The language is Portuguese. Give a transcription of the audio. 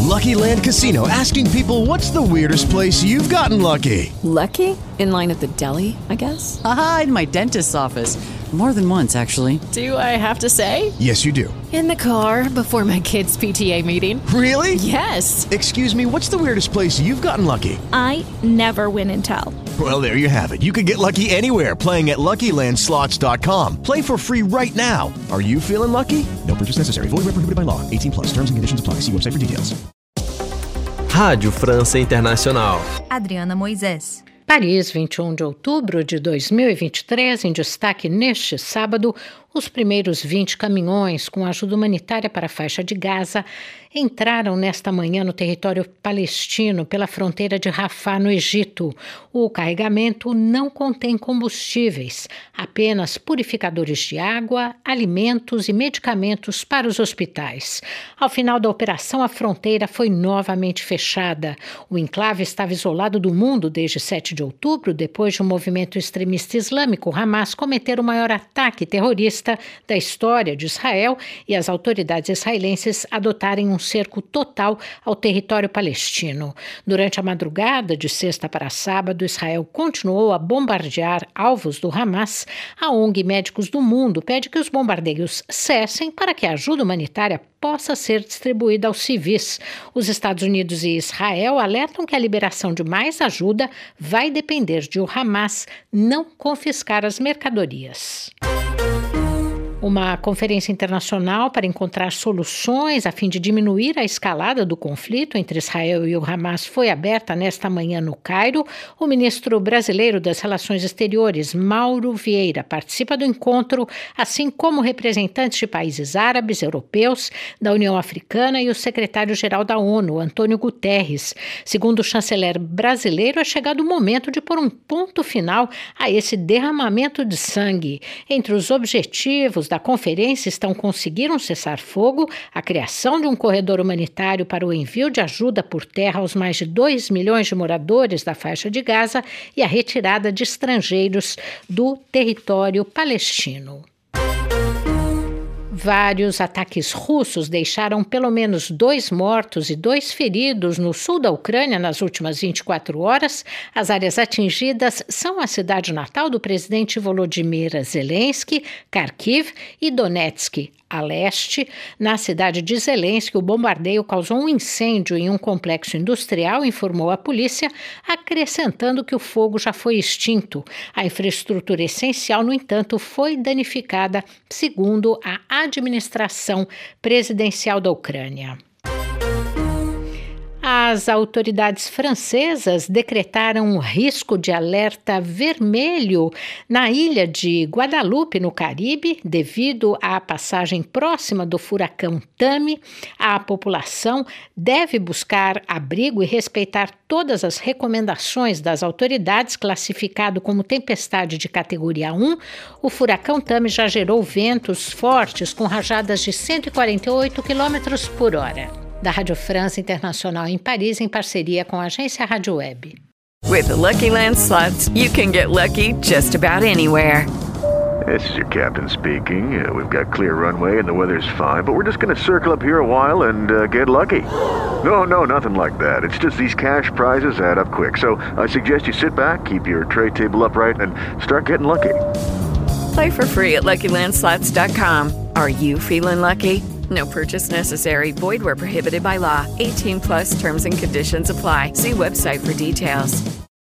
Lucky Land Casino, asking people, what's the weirdest place you've gotten lucky? Lucky? In line at the deli, I guess? Aha, in my dentist's office. More than once, actually. Do I have to say? Yes, you do. In the car before my kids' PTA meeting. Really? Yes. Excuse me, what's the weirdest place you've gotten lucky? I never win and tell. Well, there you have it. You can get lucky anywhere, playing at LuckyLandSlots.com. Play for free right now. Are you feeling lucky? No purchase necessary. Void where prohibited by law. 18 plus. Terms and conditions apply. See website for details. Rádio França Internacional. Adriana Moisés. Paris, 21 de outubro de 2023, em destaque neste sábado, os primeiros 20 caminhões com ajuda humanitária para a faixa de Gaza entraram nesta manhã no território palestino pela fronteira de Rafah, no Egito. O carregamento não contém combustíveis, apenas purificadores de água, alimentos e medicamentos para os hospitais. Ao final da operação, a fronteira foi novamente fechada. O enclave estava isolado do mundo desde 7 de outubro, depois de um movimento extremista islâmico, Hamas, cometer o maior ataque terrorista da história de Israel e as autoridades israelenses adotarem um cerco total ao território palestino. Durante a madrugada de sexta para sábado, Israel continuou a bombardear alvos do Hamas. A ONG Médicos do Mundo pede que os bombardeios cessem para que a ajuda humanitária possa ser distribuída aos civis. Os Estados Unidos e Israel alertam que a liberação de mais ajuda vai depender de o Hamas não confiscar as mercadorias. Uma conferência internacional para encontrar soluções a fim de diminuir a escalada do conflito entre Israel e o Hamas foi aberta nesta manhã no Cairo. O ministro brasileiro das Relações Exteriores, Mauro Vieira, participa do encontro, assim como representantes de países árabes, europeus, da União Africana e o secretário-geral da ONU, Antônio Guterres. Segundo o chanceler brasileiro, é chegado o momento de pôr um ponto final a esse derramamento de sangue. Entre os objetivos da conferência estão conseguir um cessar-fogo, a criação de um corredor humanitário para o envio de ajuda por terra aos mais de 2 milhões de moradores da faixa de Gaza e a retirada de estrangeiros do território palestino. Vários ataques russos deixaram pelo menos 2 mortos e 2 feridos no sul da Ucrânia nas últimas 24 horas. As áreas atingidas são a cidade natal do presidente Volodymyr Zelensky, Kharkiv e Donetsk. A leste, na cidade de Zelensky, o bombardeio causou um incêndio em um complexo industrial, informou a polícia, acrescentando que o fogo já foi extinto. A infraestrutura essencial, no entanto, foi danificada, segundo a administração presidencial da Ucrânia. As autoridades francesas decretaram um risco de alerta vermelho na ilha de Guadalupe, no Caribe, devido à passagem próxima do furacão Tami. A população deve buscar abrigo e respeitar todas as recomendações das autoridades. Classificado como tempestade de categoria 1, o furacão Tami já gerou ventos fortes com rajadas de 148 km por hora. Da Rádio França Internacional em Paris, em parceria com a agência Rádio Web. With the Lucky Land Slots, you can get lucky just about anywhere. This is your captain speaking. We've got clear runway and the weather's fine, but we're just going to circle up here a while and get lucky. No, nothing like that. It's just these cash prizes add up quick. So I suggest you sit back, keep your tray table upright, and start getting lucky. Play for free at LuckyLandSlots.com. Are you feeling lucky? No purchase necessary. Void where prohibited by law. 18 plus terms and conditions apply. See website for details.